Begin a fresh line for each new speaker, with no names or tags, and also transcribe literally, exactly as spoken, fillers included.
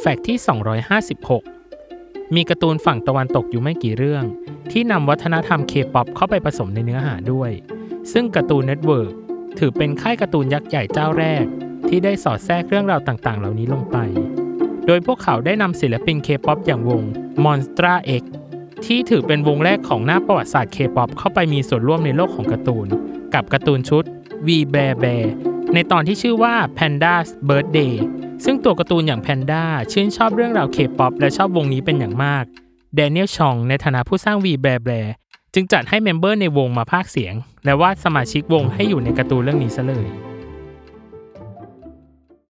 แฟกต์ที่สองร้อยห้าสิบหกมีการ์ตูนฝั่งตะวันตกอยู่ไม่กี่เรื่องที่นำวัฒนธรรม K-pop เข้าไปผสมในเนื้อหาด้วยซึ่งการ์ตูนเน็ตเวิร์กถือเป็นค่ายการ์ตูนยักษ์ใหญ่เจ้าแรกที่ได้สอดแทรกเรื่องราวต่างๆเหล่านี้ลงไปโดยพวกเขาได้นำศิลปิน K-pop อย่างวง Monsta X ที่ถือเป็นวงแรกของหน้าประวัติศาสตร์ K-pop เข้าไปมีส่วนร่วมในโลกของการ์ตูนกับการ์ตูนชุด V Bear Bear ในตอนที่ชื่อว่า Panda's Birthday ซึ่งตัวการ์ตูนอย่างแพนด้าชื่นชอบเรื่องราว K-pop และชอบวงนี้เป็นอย่างมากแดเนียลชองในฐานะผู้สร้าง V Bear Bear จึงจัดให้เมมเบอร์ในวงมาพากย์เสียงและวาดสมาชิกวงให้อยู่ในการ์ตูนเรื่องนี้ซะเลย